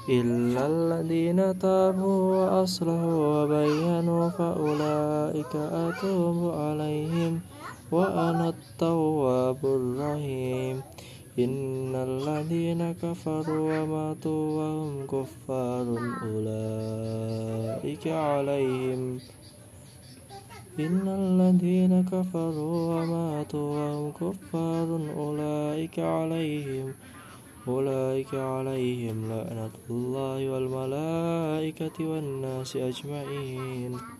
إلا الذين تابوا وأصلحوا وبينوا فأولئك أتوب عليهم وأنا التواب الرحيم. إن الذين كفروا وماتوا وهم كفار أولئك عليهم لعنة الله والملائكة والناس أجمعين.